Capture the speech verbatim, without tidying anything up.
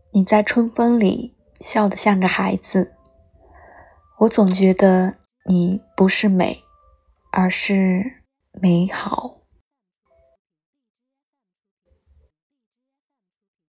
你在春风里笑得像个孩子，我总觉得你不是美，而是美好。